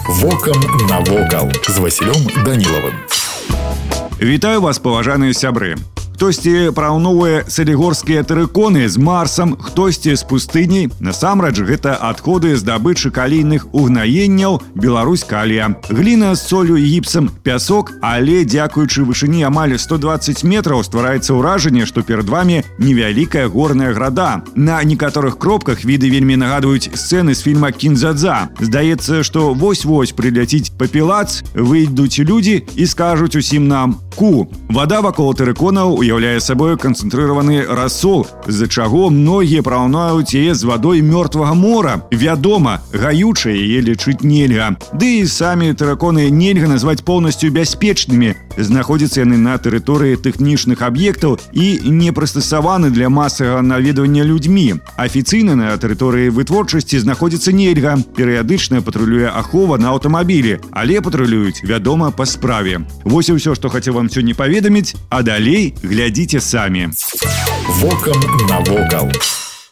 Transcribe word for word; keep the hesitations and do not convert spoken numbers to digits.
Вокам навокал з Васілём Данілавым. Вітаю вас, паважаныя сябры. Хтосьці параўноўвае салігорскія тэрыконы з Марсам, хтосьці з пустыняй. Насамрэч, гэта адходы здабычы калійных угнаенняў Беларусь-Калія. Гліна з солью і гіпсам, пясок, але дзякуючы вышыні амаль сто дваццаць метраў ствараецца ўражанне, што перад вамі невялікая горная града. На некаторых кропках віды вельмі нагадваюць сцэны з фільма «Кін-дза-дза». Здаецца, што вось-вось прыляціць папілац, выйдуць людзі і скажуць усім нам «ку». Вада вакол тэрыконаў уяўляе сабой канцэнтрыраваны рассол, з-за чаго многія параўнаюць яе з вадой мёртвага мора. Вядома, гаючай яе лічыць нельга. Ды і самі тэрыконы нельга назваць поўнасцю бяспечнымі. Знаходзяцца яны на тэрыторыі тэхнічных аб'ектаў і не прыстасаваны для масавага наведвання людзьмі. Афіцыйна на тэрыторыі вытворчасці знаходзіцца нельга. Перыядычна патрулюе ахова на аўтамабілі, але патрулююць, вядома, па справе. Вось і ўсё, што хацеў вам сёння паведаміць, а далей глядзіце самі. Вокам навокал.